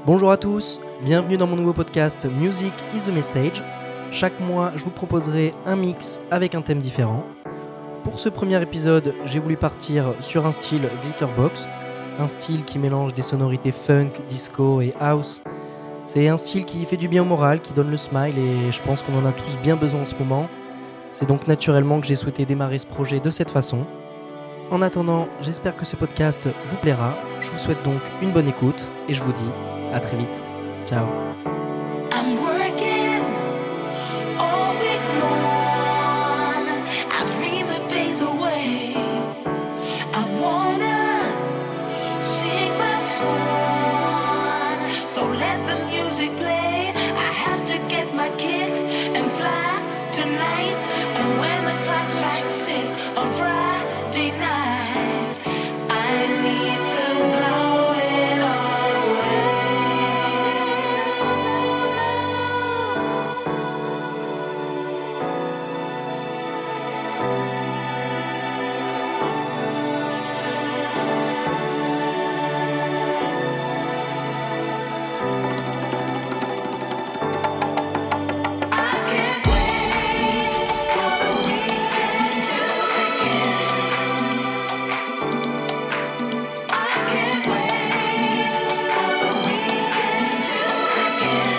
Bonjour à tous, bienvenue dans mon nouveau podcast Music is a Message. Chaque mois, je vous proposerai un mix avec un thème différent. Pour ce premier épisode, j'ai voulu partir sur un style Glitterbox, un style qui mélange des sonorités funk, disco et house. C'est un style qui fait du bien au moral, qui donne le smile et je pense qu'on en a tous bien besoin en ce moment. C'est donc naturellement que j'ai souhaité démarrer ce projet de cette façon. En attendant, j'espère que ce podcast vous plaira. Je vous souhaite donc une bonne écoute et je vous dis à très vite. Ciao. I'm working all week long. I dream the days away. I wanna sing my song. So let the music play. I have to get my kicks and fly tonight. And when the clock strikes 6 on Friday night, I need to blow it all away. I can't wait for the weekend to begin. I can't wait for the weekend to begin.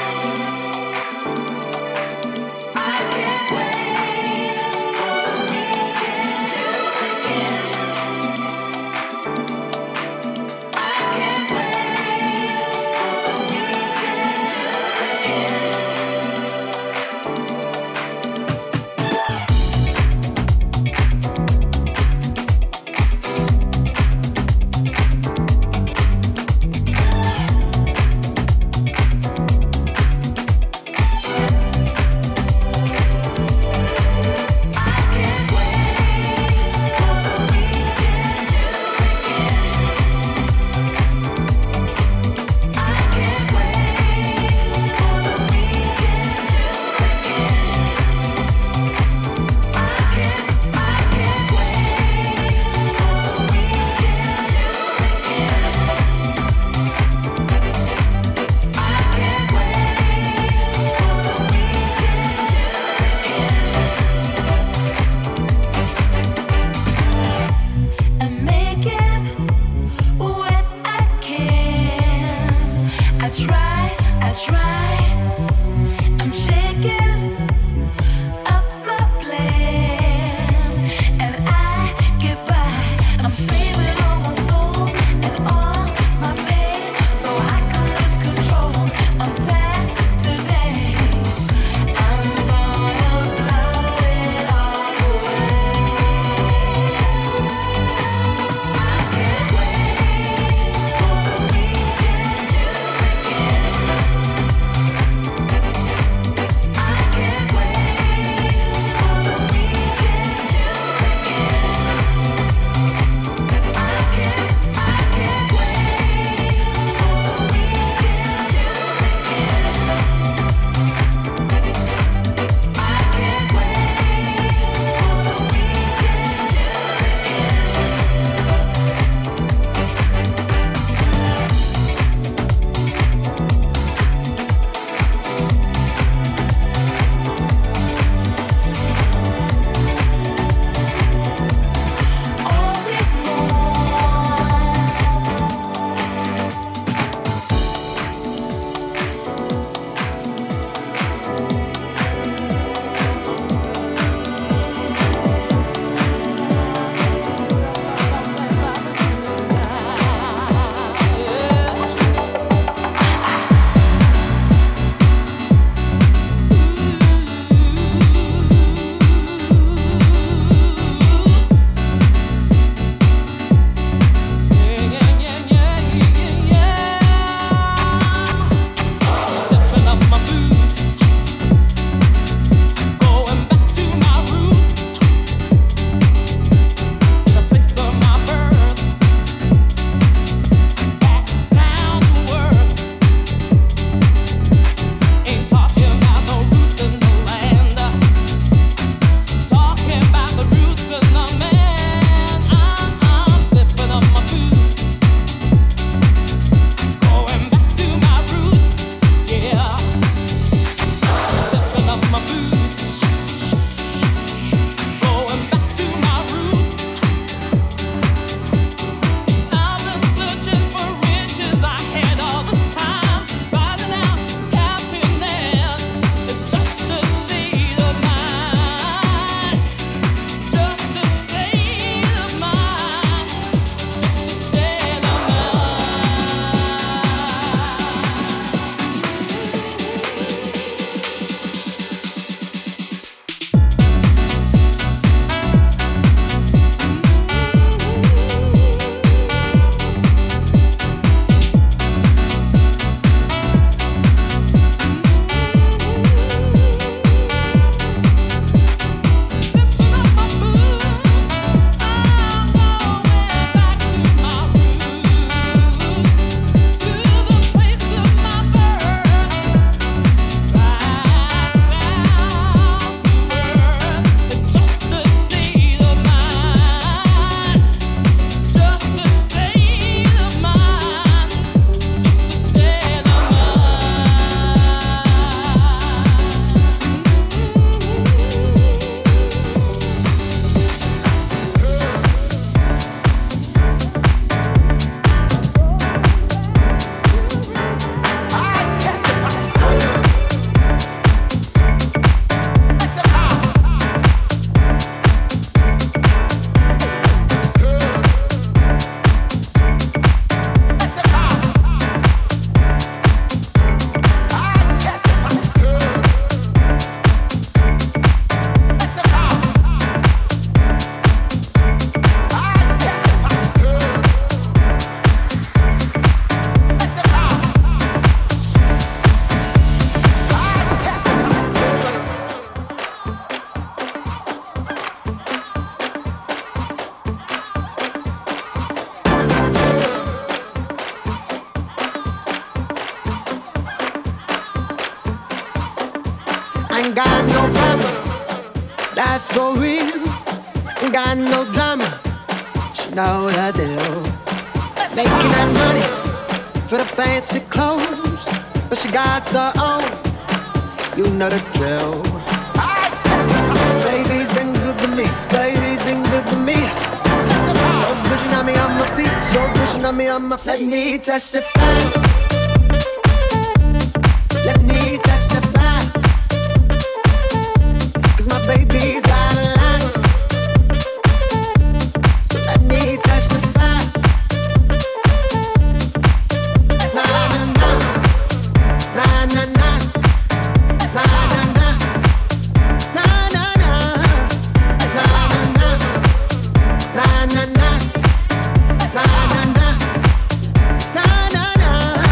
I can't wait for the weekend to begin. I can't wait for the weekend to begin. I can't wait for the weekend to begin. I can't wait for the weekend to begin. I can't wait for the weekend to begin. I can't wait for the weekend to begin. And make it what I can. I try. I'm shaking up my plan, and I get by. I'm saving all my soul and all my pain, so I can lose control on Saturday. I'm gonna blow it all away. I can't wait for the weekend to begin. Ain't got no problem, that's for real. Ain't got no drama, she know the deal. Making that money for the fancy clothes, but she got her own, you know the drill. Baby's been good to me, baby's been good to me. So good you know me, I'm a piece. So good you know me, I'm a let me testify. Let me testify. 'Cause my baby's got a lot. So let me testify. Na na na, na na na, na na na, na na na, na na na, na na na, na na na, na na na.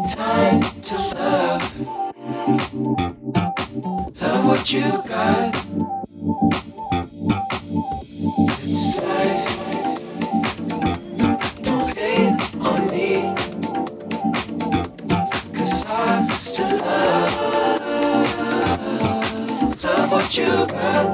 Time to love. Love what you got. It's life. Don't hate on me. 'Cause I still love what you got.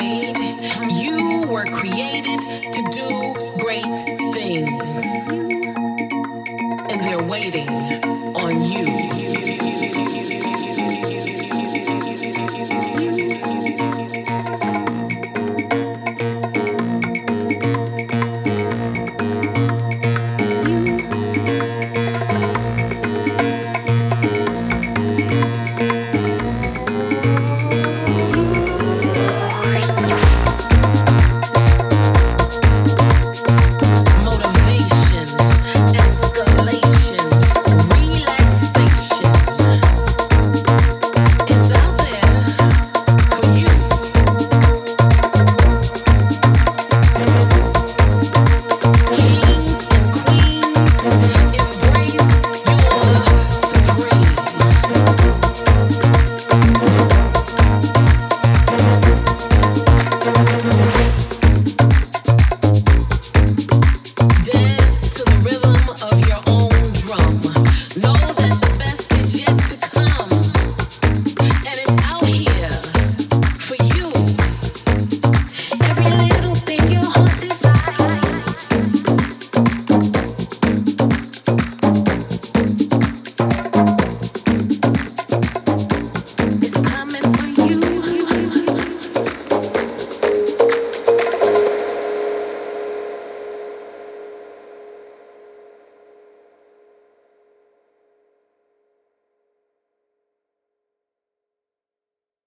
afraid. You were created to do